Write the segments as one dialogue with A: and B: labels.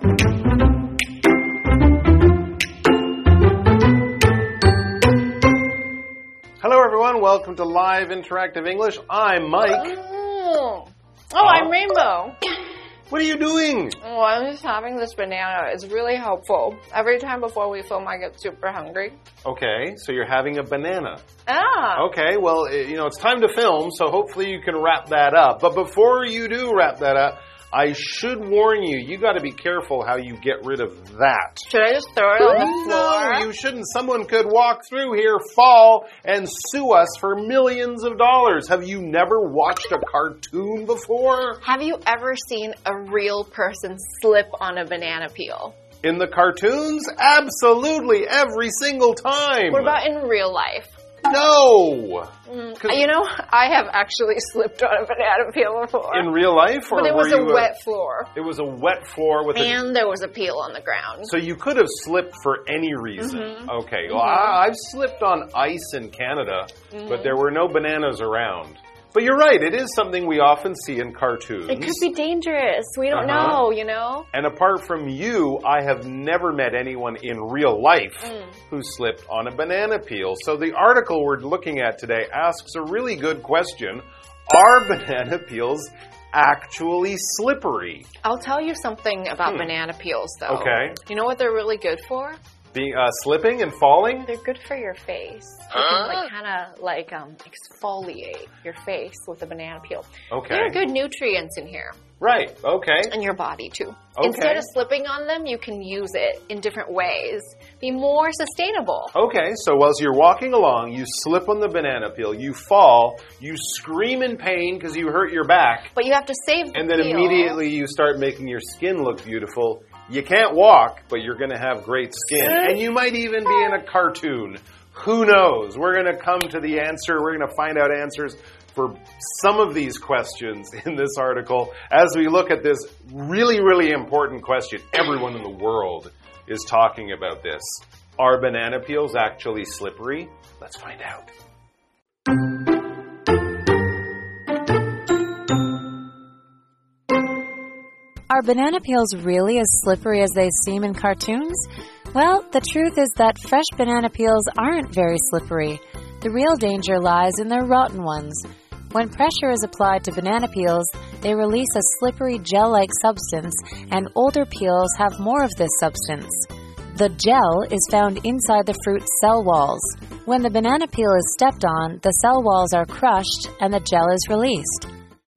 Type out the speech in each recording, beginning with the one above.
A: Hello, everyone. Welcome to Live Interactive English. I'm Mike.
B: I'm Rainbow.
A: What are you doing?
B: Oh, I'm just having this banana. It's really helpful. Every time before we film, I get super hungry.
A: Okay, so you're having a banana.
B: Ah.
A: Okay, well, it's time to film, so hopefully you can wrap that up. But before you do wrap that up, I should warn you, you got to be careful how you get rid of that.
B: Should I just throw it on the floor?
A: No, you shouldn't. Someone could walk through here, fall, and sue us for millions of dollars. Have you never watched a cartoon before?
B: Have you ever seen a real person slip on a banana peel?
A: In the cartoons? Absolutely, every single time.
B: What about in real life?
A: No!
B: I have actually slipped on a banana peel before.
A: In real life? Or
B: but it was a wet floor.
A: It was a wet floor with
B: And there was a peel on the ground.
A: So you could have slipped for any reason. Okay, well, I've slipped on ice in Canada, but there were no bananas around. But you're right, it is something we often see in cartoons.
B: It could be dangerous. We don't know,
A: And apart from you, I have never met anyone in real life who slipped on a banana peel. So the article we're looking at today asks a really good question. Are banana peels actually slippery?
B: I'll tell you something about banana peels, though.
A: Okay.
B: You know what they're really good for?
A: Being slipping and falling?
B: They're good for your face. You can kind of exfoliate your face with a banana peel.
A: Okay.
B: There are good nutrients in here.
A: Right, okay.
B: And your body, too.
A: Okay.
B: Instead of slipping on them, you can use it in different ways. Be more sustainable.
A: Okay, so as you're walking along, you slip on the banana peel, you fall, you scream in pain because you hurt your back.
B: But you have to save the
A: And then
B: peel.
A: immediately you start making your skin look beautiful. You can't walk, but you're going to have great skin. And you might even be in a cartoon. Who knows? We're going to come to the answer. We're going to find out answers for some of these questions in this article as we look at this really, really important question. Everyone in the world is talking about this. Are banana peels actually slippery? Let's find out.
C: Are banana peels really as slippery as they seem in cartoons? Well, the truth is that fresh banana peels aren't very slippery. The real danger lies in their rotten ones. When pressure is applied to banana peels, they release a slippery gel-like substance, and older peels have more of this substance. The gel is found inside the fruit's cell walls. When the banana peel is stepped on, the cell walls are crushed and the gel is released.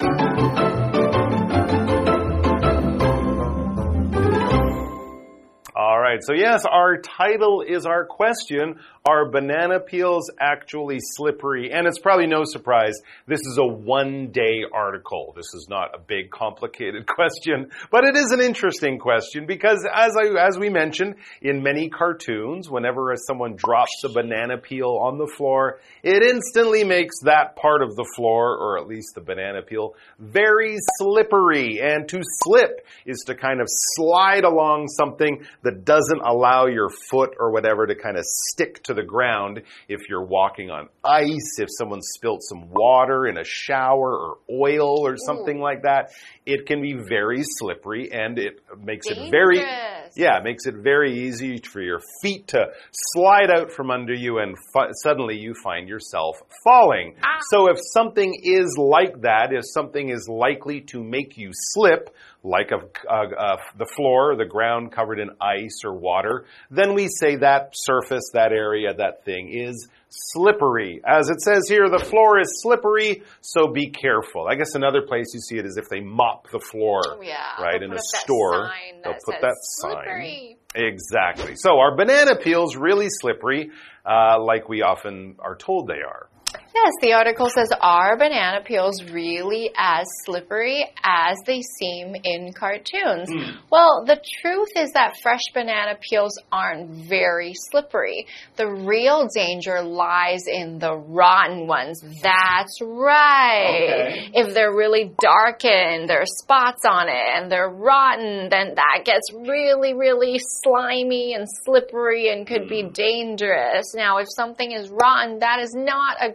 A: All right, so yes, our title is our question. Are banana peels actually slippery? And it's probably no surprise, this is a one-day article. This is not a big, complicated question, but it is an interesting question because as we mentioned, in many cartoons, whenever someone drops a banana peel on the floor, it instantly makes that part of the floor, or at least the banana peel, very slippery. And to slip is to kind of slide along something that doesn't allow your foot or whatever to kind of stick to the ground if you're walking on ice, if someone spilt some water in a shower or oil or something like that. It can be very slippery and it makes it very easy for your feet to slide out from under you and suddenly you find yourself falling. So if something is like that, if something is likely to make you slip, like the floor or the ground covered in ice or water, then we say that surface, that area, that thing is slippery. As it says here, the floor is slippery, so be careful. I guess another place you see it is if they mop the floor, right, in a store. They'll put that sign. Exactly. So are banana peels really slippery, like we often are told they are?
B: Yes, the article says, are banana peels really as slippery as they seem in cartoons? Well, the truth is that fresh banana peels aren't very slippery. The real danger lies in the rotten ones. That's right.
A: Okay.
B: If they're really darkened, there are spots on it, and they're rotten, then that gets really, really slimy and slippery and could be dangerous. Now, if something is rotten, that is not a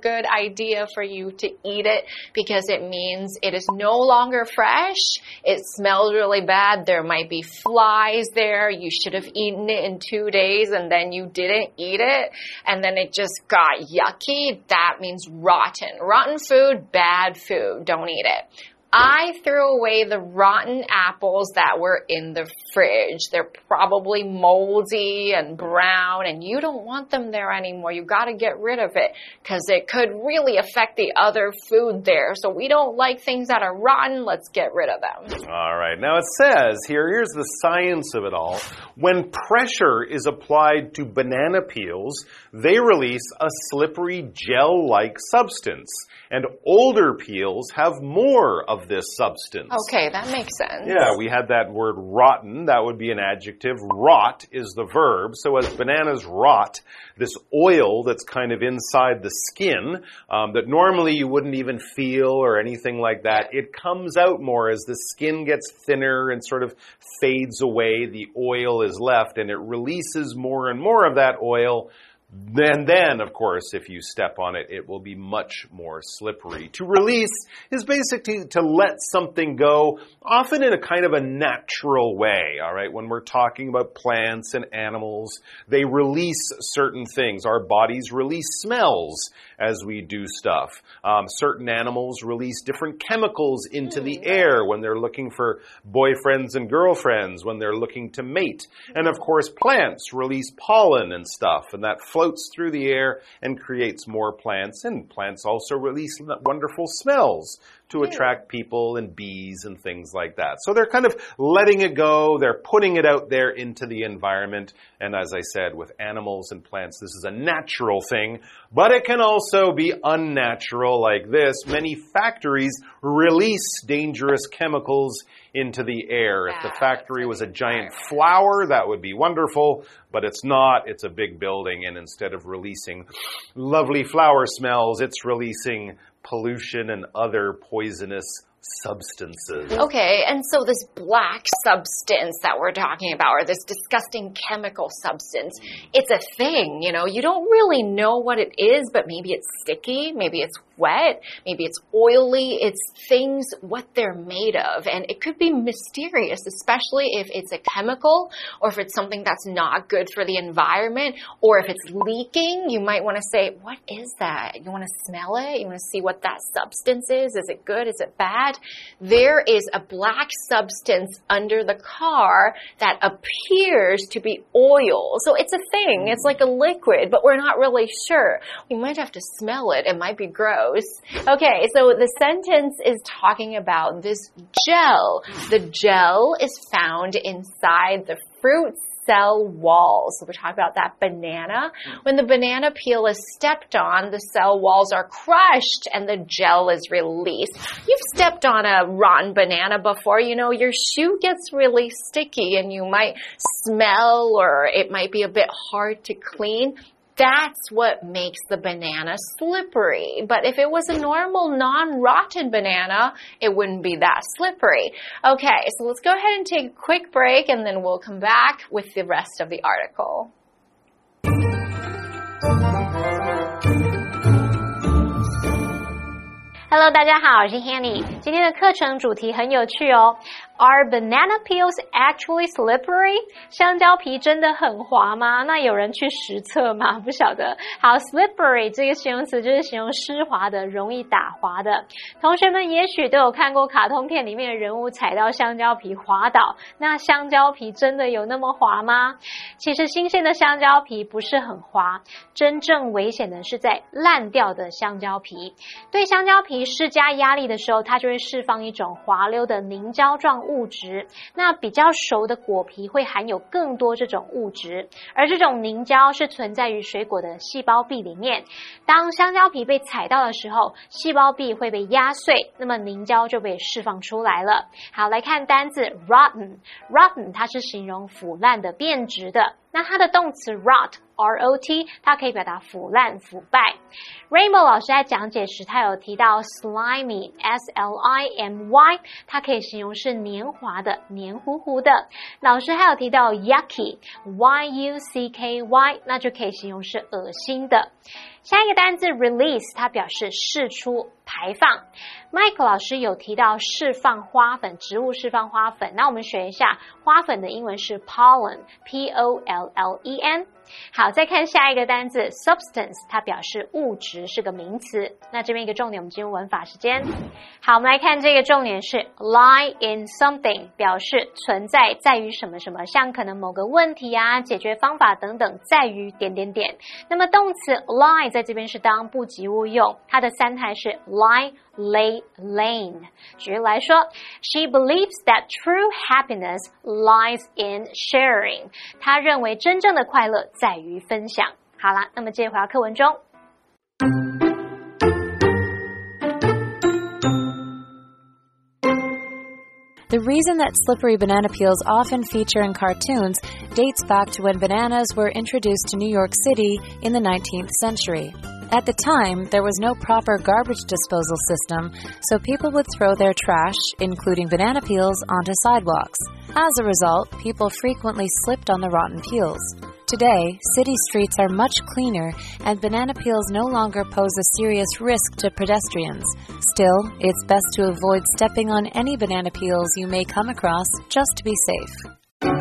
B: good idea for you to eat it because it means it is no longer fresh. It smells really bad. There might be flies there. You should have eaten it in 2 days and then you didn't eat it and then it just got yucky. That means rotten. Rotten food, bad food. Don't eat it. I threw away the rotten apples that were in the fridge. They're probably moldy and brown, and you don't want them there anymore. You got to get rid of it because it could really affect the other food there. So we don't like things that are rotten. Let's get rid of them.
A: All right. Now it says here's the science of it all. When pressure is applied to banana peels, they release a slippery gel-like substance. And older peels have more of this substance.
B: Okay, that makes sense.
A: Yeah, we had that word rotten. That would be an adjective. Rot is the verb. So as bananas rot, this oil that's kind of inside the skin that normally you wouldn't even feel or anything like that, it comes out more as the skin gets thinner and sort of fades away. The oil is left and it releases more and more of that oil. Then, of course, if you step on it, it will be much more slippery. To release is basically to let something go, often in a kind of a natural way, all right? When we're talking about plants and animals, they release certain things. Our bodies release smells as we do stuff. Certain animals release different chemicals into the air when they're looking for boyfriends and girlfriends, when they're looking to mate. And, of course, plants release pollen and stuff, and that floats through the air and creates more plants. And plants also release wonderful smells to attract people and bees and things like that. So they're kind of letting it go. They're putting it out there into the environment. And as I said, with animals and plants, this is a natural thing, but it can also be unnatural like this. Many factories release dangerous chemicals into the air. If the factory was a giant flower, that would be wonderful, but it's not. It's a big building, and instead of releasing lovely flower smells, it's releasing pollution and other poisonous substances.
B: Okay, and so this black substance that we're talking about, or this disgusting chemical substance, it's a thing, you know. You don't really know what it is, but maybe it's sticky, maybe it's wet, maybe it's oily. It's things, what they're made of, and it could be mysterious, especially if it's a chemical, or if it's something that's not good for the environment, or if it's leaking. You might want to say, what is that? You want to smell it? You want to see what that substance is? Is it good? Is it bad? There is a black substance under the car that appears to be oil. So it's a thing. It's like a liquid, but we're not really sure. We might have to smell it. It might be gross. Okay, so the sentence is talking about this gel. The gel is found inside the fruit cell walls. So we're talking about that banana. When the banana peel is stepped on, the cell walls are crushed and the gel is released. You've stepped on a rotten banana before. You know, your shoe gets really sticky and you might smell, or it might be a bit hard to clean. That's what makes the banana slippery. But if it was a normal, non-rotten banana, it wouldn't be that slippery. Okay, so let's go ahead and take a quick break, and then we'll come back with the rest of the article.
D: Hello， 大家好，我是 Hanny。今天的课程主题很有趣哦。Are banana peels actually slippery？ 香蕉皮真的很滑嗎？那有人去實測嗎？不曉得。好 ，slippery 這個形容詞就是形容濕滑的、容易打滑的。同學們也許都有看過卡通片裡面的人物踩到香蕉皮滑倒。那香蕉皮真的有那麼滑嗎？其實新鮮的香蕉皮不是很滑，真正危險的是在爛掉的香蕉皮。對香蕉皮施加壓力的時候，它就會釋放一種滑溜的凝膠狀物質。那比較熟的果皮會含有更多這種物質，而這種凝膠是存在於水果的細胞壁裡面。當香蕉皮被踩到的時候，細胞壁會被壓碎，那麼凝膠就被釋放出來了。好，來看單字 rotten。rotten 它是形容腐爛的、變質的。那它的動詞 rot，R-O-T， 它可以表達腐爛、腐敗。Rainbow 老師在講解時，他有提到 slimy，S-L-I-M-Y， 它可以形容是黏滑的、黏糊糊的。老師還有提到 yucky，Y-U-C-K-Y， 那就可以形容是噁心的。 下一個單字 release 它表示釋出排放。Mike 老師有提到釋放花粉，植物釋放花粉，那我們學一下花粉的英文是 pollen P-O-L-L-E-N。好，再看下一個單字 substance 它表示物質，是個名詞。那這邊一個重點，我們進入文法時間。好，我們來看這個重點是 lie in something 表示存在，在於什麼什麼，像可能某個問題啊，解決方法等等，在於點點點。那麼動詞 lie 在這邊是當不及物用，它的三態是 lie lay lane。舉例來說 She believes that true happiness lies in sharing 她認為真正的快樂在於分享。好啦，那麼接回到課文中。
C: The reason that slippery banana peels often feature in cartoons dates back to when bananas were introduced to New York City in the 19th century. At the time, there was no proper garbage disposal system, so people would throw their trash, including banana peels, onto sidewalks. As a result, people frequently slipped on the rotten peels. Today, city streets are much cleaner, and banana peels no longer pose a serious risk to pedestrians. Still, it's best to avoid stepping on any banana peels you may come across just to be safe.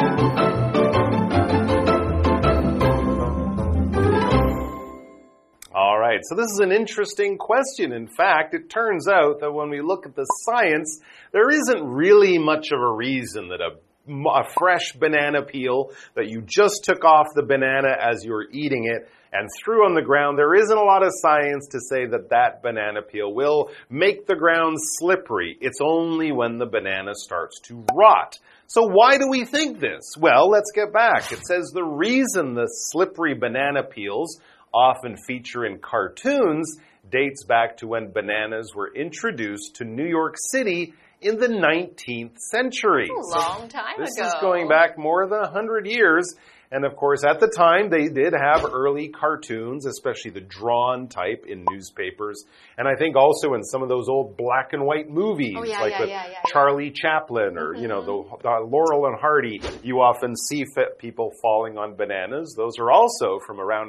A: All right, so this is an interesting question. In fact, it turns out that when we look at the science, there isn't really much of a reason that a fresh banana peel that you just took off the banana as you were eating it and threw on the ground, there isn't a lot of science to say that that banana peel will make the ground slippery. It's only when the banana starts to rot. So why do we think this? Well, let's get back. It says the reason the slippery banana peels often feature in cartoons dates back to when bananas were introduced to New York City in the 19th century.
B: A long time ago.
A: This is going back more than 100 years. And of course, at the time, they did have early cartoons, especially the drawn type in newspapers. And I think also in some of those old black and white movies, Charlie Chaplin or, you know, the Laurel and Hardy, you often see people falling on bananas. Those are also from around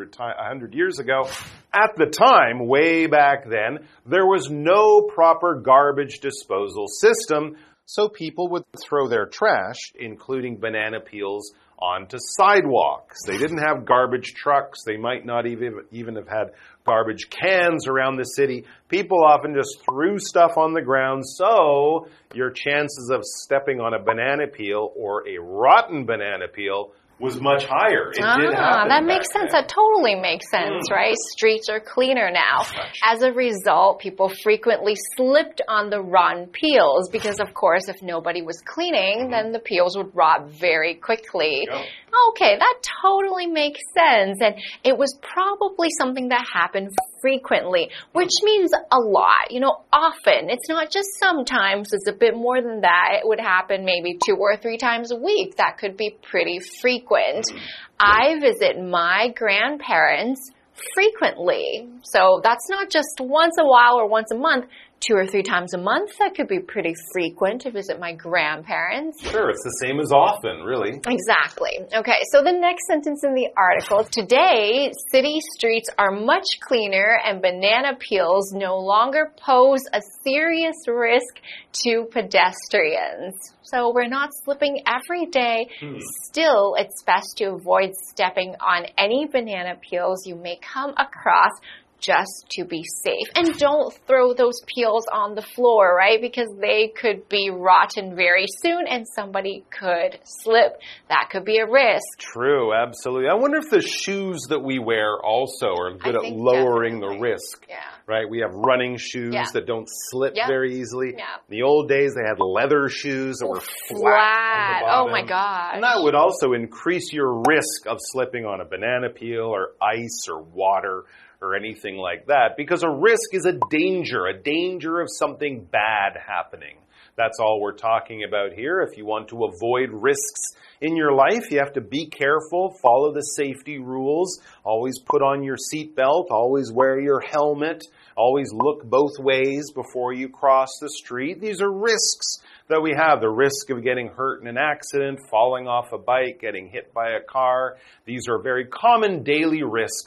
A: 100 years ago. At the time, way back then, there was no proper garbage disposal system, so people would throw their trash, including banana peels, onto sidewalks. They didn't have garbage trucks. They might not even have had garbage cans around the city. People often just threw stuff on the ground, so your chances of stepping on a banana peel or a rotten banana peel was much higher. It did happen.
B: That makes sense. That totally makes sense, right? Streets are cleaner now. As a result, people frequently slipped on the rotten peels because, of course, if nobody was cleaning, then the peels would rot very quickly. Okay, that totally makes sense. And it was probably something that happened frequently, which means a lot, you know, often. It's not just sometimes, it's a bit more than that. It would happen maybe 2 or 3 times a week. That could be pretty frequent. I visit my grandparents frequently. So that's not just once a while or once a month. 2 or 3 times a month, that could be pretty frequent to visit my grandparents.
A: Sure, it's the same as often, really.
B: Exactly. Okay, so the next sentence in the article. Today, city streets are much cleaner and banana peels no longer pose a serious risk to pedestrians. So we're not slipping every day. Still, it's best to avoid stepping on any banana peels you may come across just to be safe. And don't throw those peels on the floor, right? Because they could be rotten very soon and somebody could slip. That could be a risk.
A: True, absolutely. I wonder if the shoes that we wear also are good at lowering the risk.
B: Yeah.
A: Right? We have running shoes that don't slip very easily.
B: Yeah.
A: In the old days, they had leather shoes that were flat.
B: Oh my gosh.
A: And that would also increase your risk of slipping on a banana peel or ice or water or anything like that, because a risk is a danger of something bad happening. That's all we're talking about here. If you want to avoid risks in your life, you have to be careful, follow the safety rules, always put on your seatbelt, always wear your helmet, always look both ways before you cross the street. These are risks that we have. The risk of getting hurt in an accident, falling off a bike, getting hit by a car. These are very common daily risks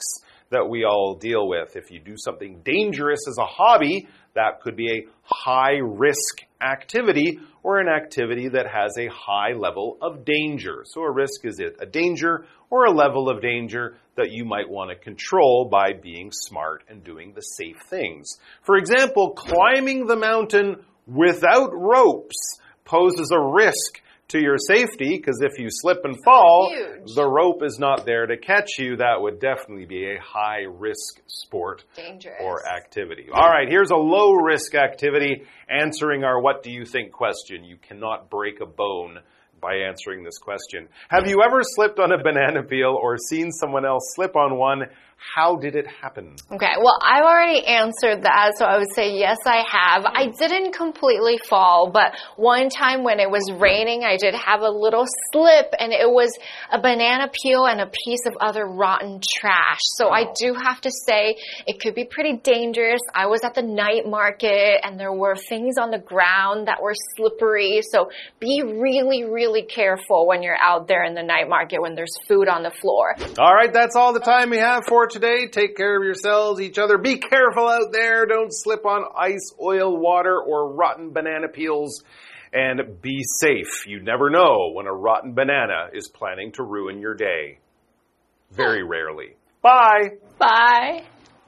A: that we all deal with. If you do something dangerous as a hobby, that could be a high-risk activity or an activity that has a high level of danger. So a risk is a danger or a level of danger that you might want to control by being smart and doing the safe things. For example, climbing the mountain without ropes poses a risk to your safety, because if you slip and fall, the rope is not there to catch you. That would definitely be a high-risk sport or activity. All right, here's a low-risk activity, answering our what do you think question. You cannot break a bone by answering this question. Have you ever slipped on a banana peel or seen someone else slip on one? How did it happen?
B: Okay, well, I've already answered that, so I would say yes, I have. I didn't completely fall, but one time when it was raining, I did have a little slip, and it was a banana peel and a piece of other rotten trash. So I do have to say it could be pretty dangerous. I was at the night market, and there were things on the ground that were slippery, so be really, really careful when you're out there in the night market when there's food on the floor.
A: All right, that's all the time we have for today. Take care of yourselves, each other. Be careful out there. Don't slip on ice, oil, water, or rotten banana peels. And be safe. You never know when a rotten banana is planning to ruin your day. Very rarely. Bye.
B: Bye.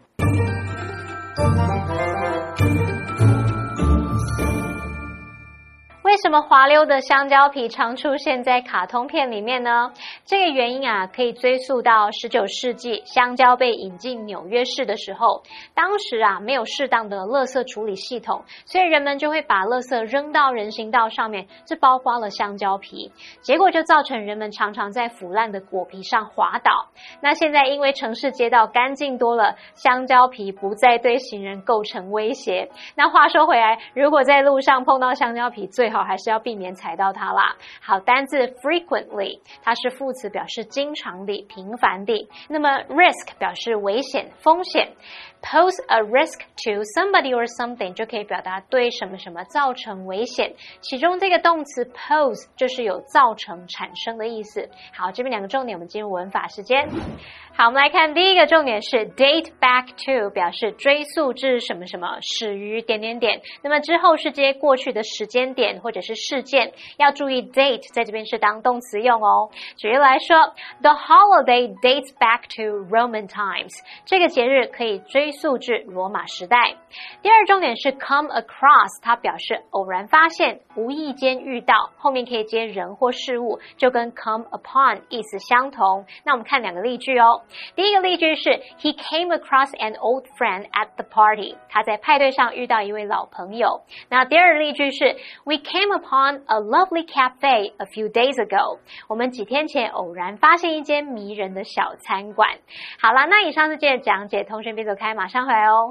D: 为什么滑溜的香蕉皮常出现在卡通片里面呢？这个原因啊，可以追溯到19世纪香蕉被引进纽约市的时候，当时啊没有适当的垃圾处理系统，所以人们就会把垃圾扔到人行道上面，这包括了香蕉皮，结果就造成人们常常在腐烂的果皮上滑倒。那现在因为城市街道干净多了，香蕉皮不再对行人构成威胁。那话说回来，如果在路上碰到香蕉皮，最好还是要避免踩到它啦。好，单字 frequently 它是副詞，表示經常地、頻繁地。那麼 risk 表示危險、風險。Pose a risk to somebody or something 就可以表達對什麼什麼造成危險，其中這個動詞 pose 就是有造成、產生的意思。好，這邊兩個重點，我們進入文法時間。好，我們來看第一個重點是 date back to 表示追溯至什麼什麼，始於點點點。那麼之後是接過去的時間點或者是事件，要注意 date 在這邊是當動詞用哦。舉例來說 The holiday dates back to Roman times 這個節日可以追溯至羅馬時代。第二重點是 come across 它表示偶然發現，無意間遇到，後面可以接人或事物，就跟 come upon 意思相同。那我們看兩個例句哦。第一個例句是 He came across an old friend at the party 他在派對上遇到一位老朋友。那第二個例句是 We came upon a lovely cafe a few days ago 我們幾天前偶然發現一間迷人的小餐館。好啦，那以上是今天的講解，同學別走開，馬上回來哦。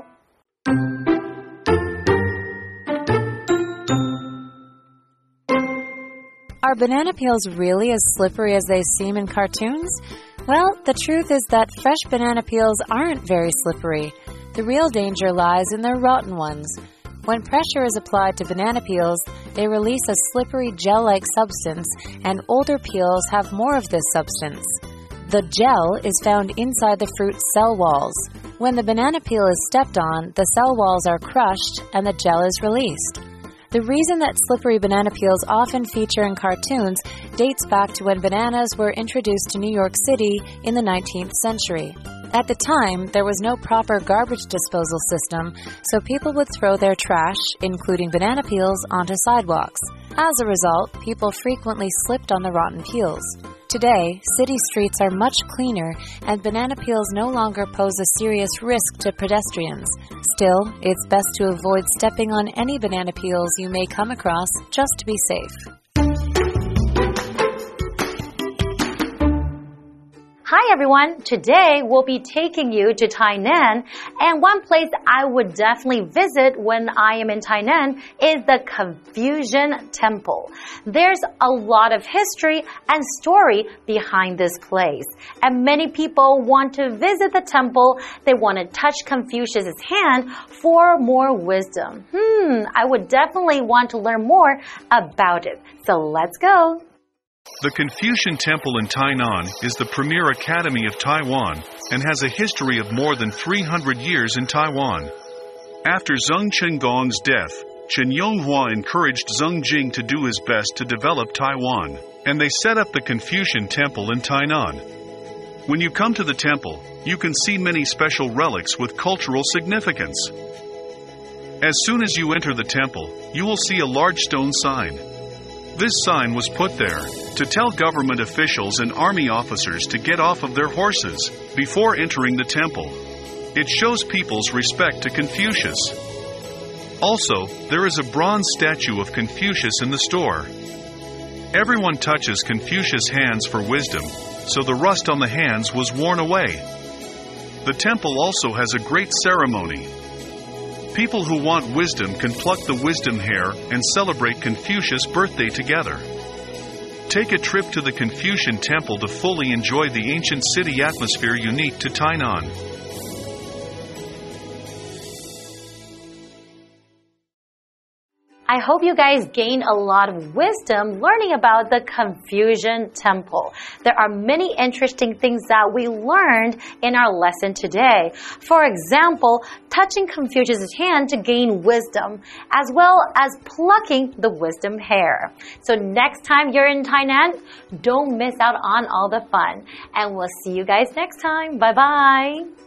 C: Are banana peels really as slippery as they seem in cartoons? Well, the truth is that fresh banana peels aren't very slippery. The real danger lies in the rotten ones. When pressure is applied to banana peels, they release a slippery gel-like substance, and older peels have more of this substance. The gel is found inside the fruit's cell walls. When the banana peel is stepped on, the cell walls are crushed and the gel is released. The reason that slippery banana peels often feature in cartoons dates back to when bananas were introduced to New York City in the 19th century. At the time, there was no proper garbage disposal system, so people would throw their trash, including banana peels, onto sidewalks. As a result, people frequently slipped on the rotten peels. Today, city streets are much cleaner, and banana peels no longer pose a serious risk to pedestrians. Still, it's best to avoid stepping on any banana peels you may come across just to be safe.
E: Hi everyone, today we'll be taking you to Tainan, and one place I would definitely visit when I am in Tainan is the Confucian Temple. There's a lot of history and story behind this place, and many people want to visit the temple. They want to touch Confucius' hand for more wisdom. I would definitely want to learn more about it. So let's go.
F: The Confucian Temple in Tainan is the premier academy of Taiwan and has a history of more than 300 years in Taiwan. After Zheng Qinggong's death, Chen Yonghua encouraged Zheng Jing to do his best to develop Taiwan, and they set up the Confucian Temple in Tainan. When you come to the temple, you can see many special relics with cultural significance. As soon as you enter the temple, you will see a large stone sign. This sign was put there to tell government officials and army officers to get off of their horses before entering the temple. It shows people's respect to Confucius. Also, there is a bronze statue of Confucius in the store. Everyone touches Confucius' hands for wisdom, so the rust on the hands was worn away. The temple also has a great ceremony. People who want wisdom can pluck the wisdom hair and celebrate Confucius' birthday together. Take a trip to the Confucian Temple to fully enjoy the ancient city atmosphere unique to Tainan.
E: I hope you guys gain a lot of wisdom learning about the Confucian Temple. There are many interesting things that we learned in our lesson today. For example, touching Confucius' hand to gain wisdom, as well as plucking the wisdom hair. So next time you're in Tainan, don't miss out on all the fun. And we'll see you guys next time. Bye-bye.